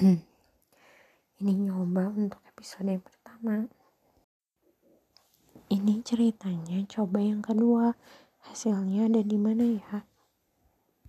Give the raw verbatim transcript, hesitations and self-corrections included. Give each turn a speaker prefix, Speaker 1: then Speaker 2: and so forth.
Speaker 1: Ini nyoba untuk episode yang pertama. Ini ceritanya coba yang kedua. Hasilnya ada di mana ya?